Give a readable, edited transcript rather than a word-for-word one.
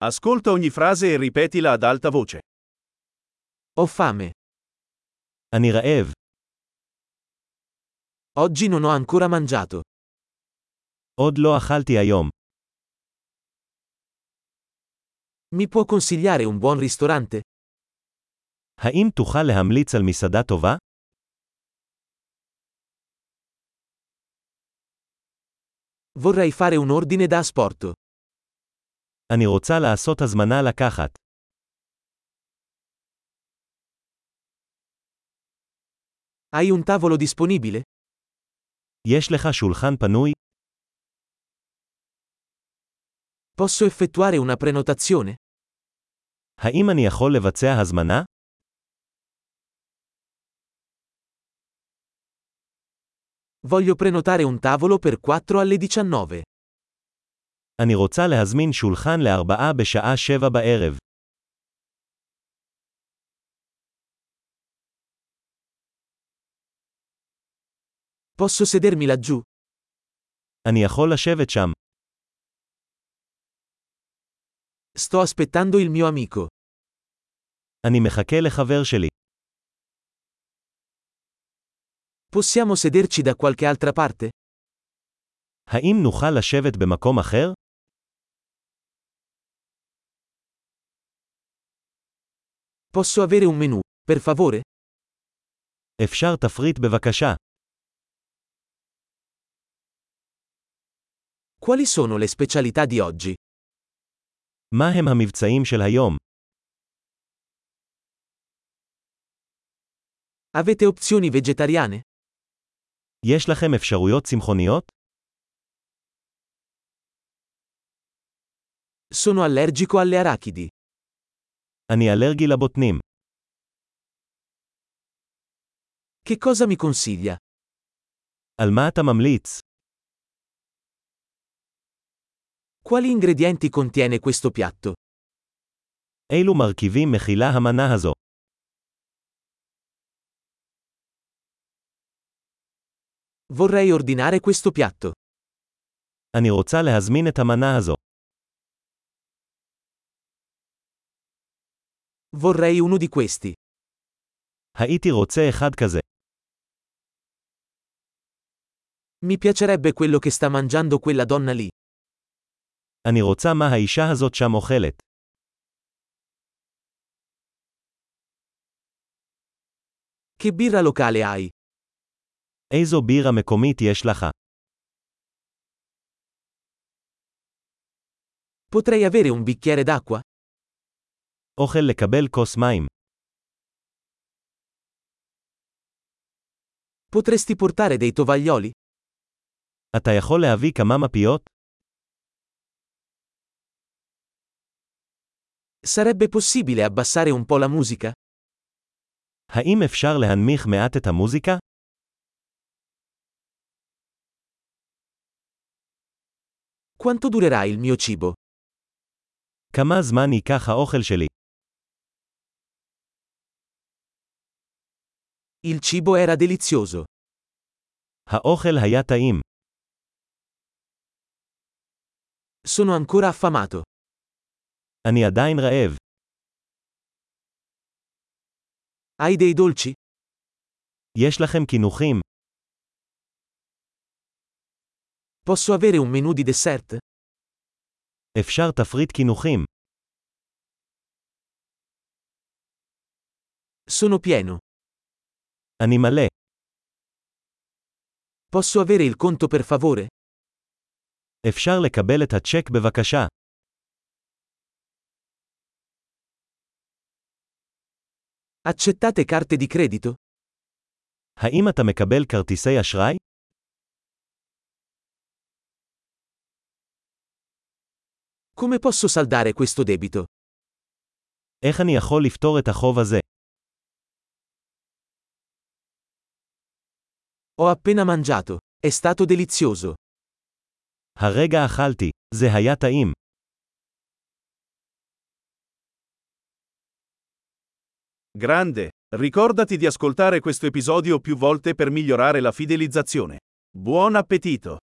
Ascolta ogni frase e ripetila ad alta voce. Ho fame. אני רעב. Oggi non ho ancora mangiato. עוד לא אכלתי היום. Mi può consigliare un buon ristorante? האם תוכל להמליץ על מסעדה טובה? Vorrei fare un ordine da asporto. אני רוצה לעשות הזמנה לקחת. Hai un tavolo disponibile? יש לך שולחן פנוי? Posso effettuare una prenotazione? האם אני יכול לבצע הזמנה? Voglio prenotare un tavolo per 4 alle 19. אני רוצה להזמין שולחן ל4 בשעה 7 בערב. Posso sedermi laggiù? אני יכול לשבת שם. Sto aspettando il mio amico. אני מחכה לחבר שלי. Possiamo sederci da qualche altra parte? האם נוכל לשבת במקום אחר? Posso avere un menù, per favore? אפשר תפריט בבקשה. Quali sono le specialità di oggi? מה הם המבצעים של היום? Avete opzioni vegetariane? יש לכם אפשרויות צמחוניות? Sono allergico alle arachidi. אני אלרגי לבוטנים. Che cosa mi consiglia? על מה אתה ממליץ? Quali ingredienti contiene questo piatto? אילו מרכיבים מכילה המנה הזו? Vorrei ordinare questo piatto. אני רוצה להזמין את המנה הזו. Vorrei uno di questi. הייתי רוצה אחד כזה. Mi piacerebbe quello che sta mangiando quella donna lì. אני רוצה מה האישה הזאת שם אוכלת. Che birra locale hai? איזו בירה מקומית יש לך? Potrei avere un bicchiere d'acqua? אוכל לקבל כוס מים. Potresti portare dei tovaglioli? אתה יכול להביא כמה מפיות? Sarebbe possibile abbassare un po' la musica? האם אפשר להנמיך מעט את המוזיקה? Quanto durerà il mio cibo? כמה זמן ייקח האוכל שלי? Il cibo era delizioso. האוכל היה טעים. Sono ancora affamato. אני עדיין רעב. Hai dei dolci? יש לכם קינוחים? Posso avere un menù di dessert? אפשר תפריט קינוחים. Sono pieno. אני מלא. Posso avere il conto per favore? אפשר לקבל את הצ'ק בבקשה. Accettate carte di credito? האם אתה מקבל כרטיסי אשראי? Come posso saldare questo debito? איך אני יכול לפתור את החוב הזה? Ho appena mangiato. È stato delizioso. הרגע אכלתי. זה היה טעים. Grande! Ricordati di ascoltare questo episodio più volte per migliorare la fidelizzazione. Buon appetito!